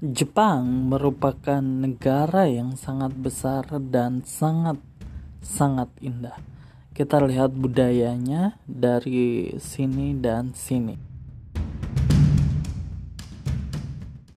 Jepang merupakan negara yang sangat besar dan sangat indah. Kita lihat budayanya dari sini dan sini.